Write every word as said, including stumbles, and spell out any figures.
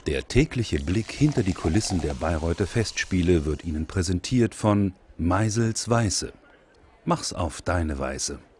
Der tägliche Blick hinter die Kulissen der Bayreuther Festspiele wird Ihnen präsentiert von Meisels Weiße. Mach's auf deine Weise.